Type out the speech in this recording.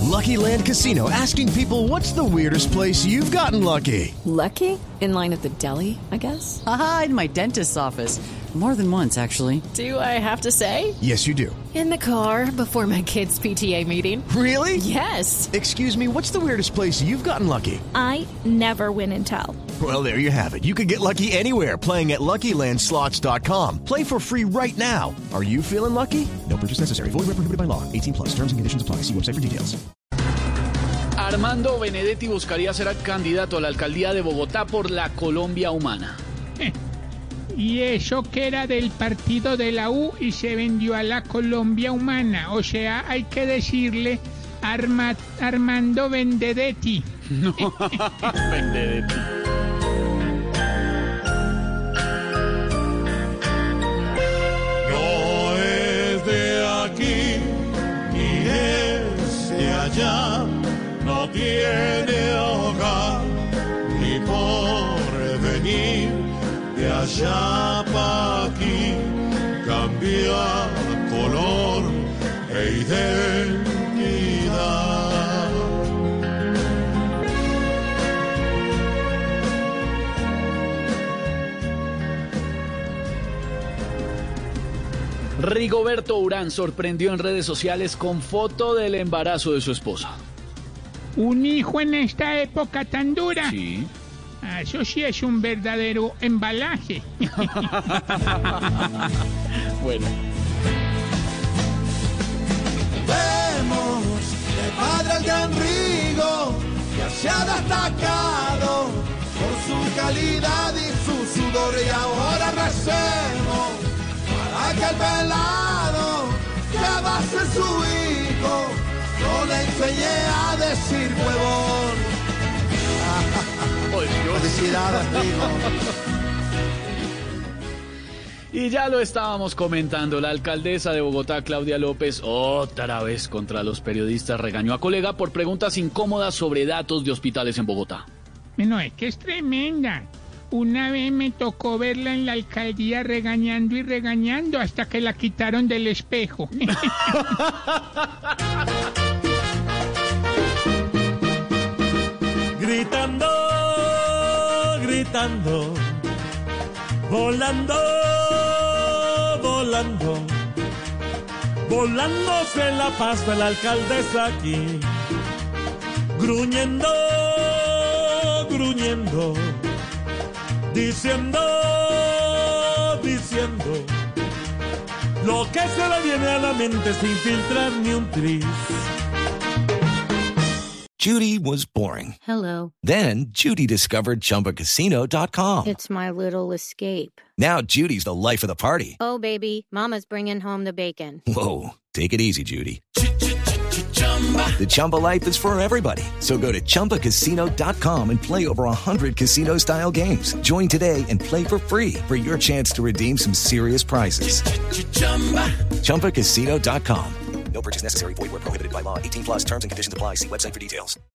Lucky Land Casino, asking people, what's the weirdest place you've gotten lucky? Lucky? In line at the deli, I guess? Aha, in my dentist's office. More than once, actually. Do I have to say? Yes, you do. In the car before my kids' PTA meeting. Really? Yes. Excuse me, what's the weirdest place you've gotten lucky? I never win and tell. Well, there you have it. You can get lucky anywhere, playing at LuckyLandSlots.com. Play for free right now. Are you feeling lucky? No purchase necessary. Void where prohibited by law. 18 plus. Terms and conditions apply. See website for details. Armando Benedetti buscaría ser candidato a la alcaldía de Bogotá por la Colombia Humana. Y eso que era del partido de la U y se vendió a la Colombia Humana. O sea, hay que decirle Armando Benedetti. No, Benedetti. No es de aquí ni es de allá, no tiene hogar ni porvenir. De allá pa' aquí cambia color e identidad. Rigoberto Urán sorprendió en redes sociales con foto del embarazo de su esposa. ¿Un hijo en esta época tan dura? Sí. Eso sí es un verdadero embalaje. Bueno. Vemos de padre al gran Rigo, que se ha destacado por su calidad y su sudor, y ahora recemos para que el pelado que va a ser su hijo no le enseñe a decir huevón. Felicidades, Rigo. Y ya lo estábamos comentando, la alcaldesa de Bogotá, Claudia López, otra vez contra los periodistas, regañó a colega por preguntas incómodas sobre datos de hospitales en Bogotá. No, es que es tremenda. Una vez me tocó verla en la alcaldía regañando y regañando hasta que la quitaron del espejo. Gritando, gritando, volando, volando, volando se la pasa la alcaldesa aquí, gruñendo, gruñendo, diciendo, diciendo, lo que se le viene a la mente sin filtrar ni un tris. Judy was boring. Hello. Then Judy discovered ChumbaCasino.com. It's my little escape. Now Judy's the life of the party. Oh, baby, mama's bringing home the bacon. Whoa, take it easy, Judy. The Chumba life is for everybody. So go to ChumbaCasino.com and play over 100 casino-style games. Join today and play for free for your chance to redeem some serious prizes. ChumbaCasino.com. No purchase necessary. Void where prohibited by law. 18 plus terms and conditions apply. See website for details.